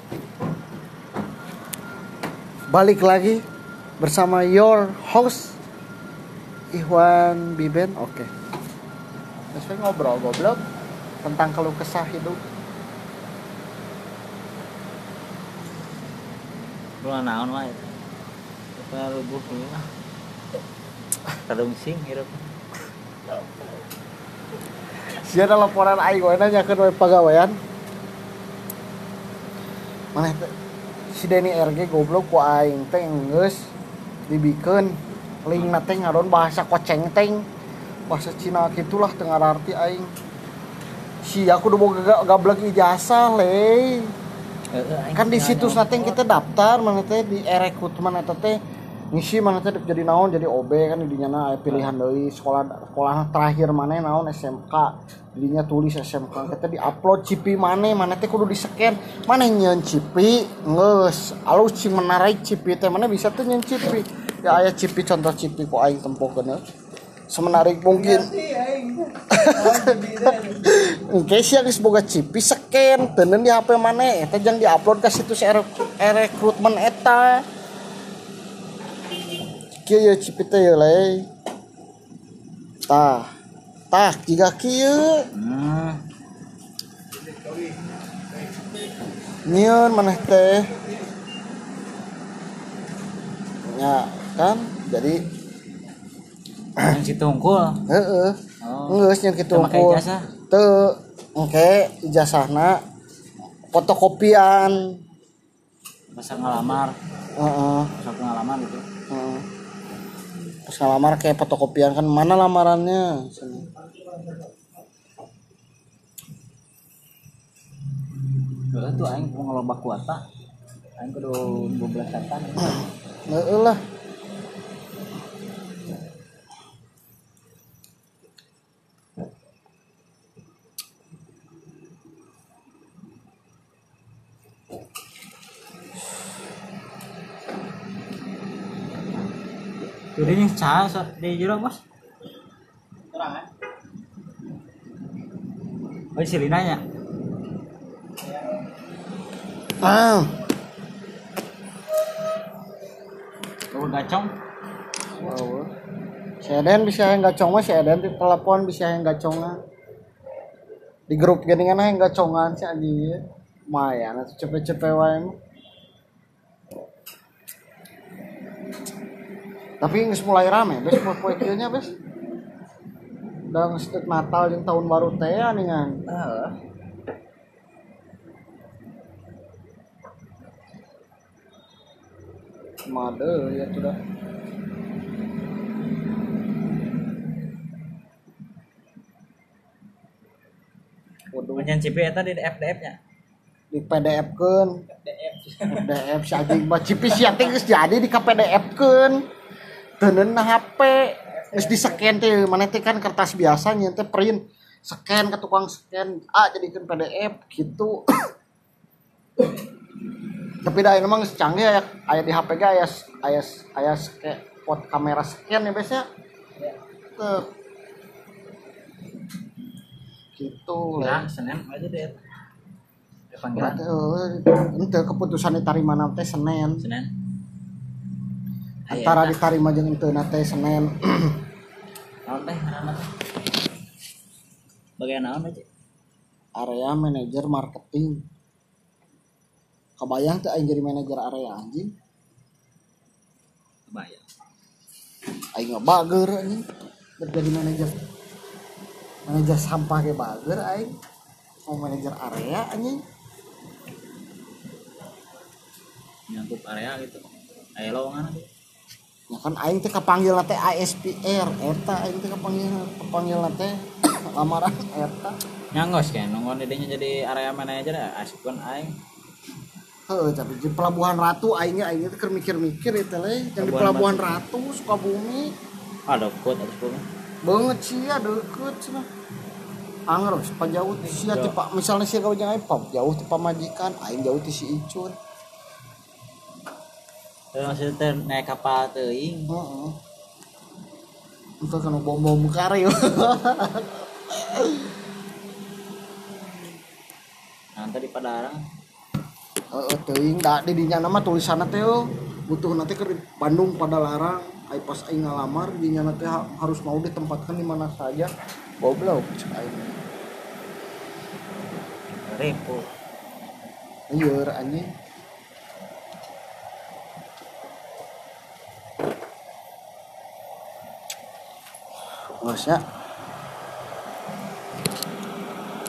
Balik lagi bersama your host Ikhwan Biben. Oke. Terus ngobrol goblok tentang keluh kesah hidup. Lu naon wae. Kita rubuh lah. Kadung sing hirup. Sia ada laporan aing we nanyakeun we pagawean. Maneh teh si Denny RG goblok ku aing teh geus dibikeun lingna teh ngaron bahasa koceng teng. Bahasa Cina gitulah teu ngararti aing. Sia kudu boga gablek ijazah le. Kan di situs nanti kita daftar mana teh di rekrutmen eta teh ngisi mana teh jadi naon jadi OB kan didinya na pilihan deui sekolah terakhir mana naon SMK didinya tulis SMK kita di-upload cipi mana teh kudu di-scan mana nyeun cipi geus alus cing menarik cipi teh mana bisa tuh nyeun cipi ya aya cipi contoh cipi ku aing tempokeun semenarik mungkin. Oke sih geus boga cipi scan teuneun di HP maneh eta jang di-upload ka situs rekrutmen eta. Kieu ye cipi teh ye le. Tah jiga kieu. Nyieun maneh teh. Ya kan jadi yang situ unggul. Heeh. Geus nya kitu unggul. Pakai ijazah. Teu engke ijazahna fotokopian. Masa ngalamar. Heeh. Sok ngalamar gitu. Heeh. Pas ngalamar kayak fotokopian kan mana lamarannya? Heeh tuh aing ngeloba kuota. Aing kudu 12 tahun. Heeh lah. Jadi ini cah di jero bos. Terang oh si Lina nya. Oh gacong. Wow. Si Eden bisa yang gacong mah si Eden di telepon bisa yang gacongna. Di grup geuningan yang gacongan si anjing. Lumayan atuh cepet-cepet wae mah. Tapi geus mulai rame, bes poe kieu nya bes. Udah geus Natal jeung tahun baru teh aningan. Heeh. Made ya sudah. Waduh nyen cipi eta di PDF-nya. Di PDF-keun. PDF si anjing mah cipi sia teh geus jadi di PDF-keun. Teuneun na HP geus di-scan teh maneh teh kan kertas biasa nya teh print scan ke tukang scan jadikeun PDF gitu. Tapi da emang geus canggih aya di HP ge aya pot kamera scan ya biasa. Teu gitu lah. Senin aja deh. Panggilan. Henteu keputusan ditarima na teh Senin. Antara ditarima jeung teu na teh Senin. Naon teh ngaranna teh? Bagian naon aja? Area manajer marketing. Kebayang teh aing jadi manajer area anjing? Kebayang. Aing mah bager anjing. Jadi manajer sampah ge bager aing. Mau manajer area anjing. Nyangkup area gitu. Aya lowongan tuh. Ya kan aing teh kapanggil teh ASPR eta aing teh kapanggil teh lamaran eta. Nyangos kan nonggon dedenya jadi area manajer asikeun aing. Heuh tapi di Pelabuhan Ratu aing teh keur mikir-mikir eta le yang di Pelabuhan Ratu Sukabumi. Deket atuh mah. Beungeut sia deukeut cenah. Angros pajauh sia ti Pak misalnya sia gawang aing jauh ti pamajikan aing jauh ti si Icun. Maksudnya teh naik kapal teuing. Heeh. Untuk kana bom-bom kare. Nanti di Padarang. teuing da di dinya nama tulisanna teh butuh nanti ke Bandung pada larang ai pas aing ngalamar dinya nanti harus mau ditempatkan di mana saja goblok cek aing repo lieur anjing bosnya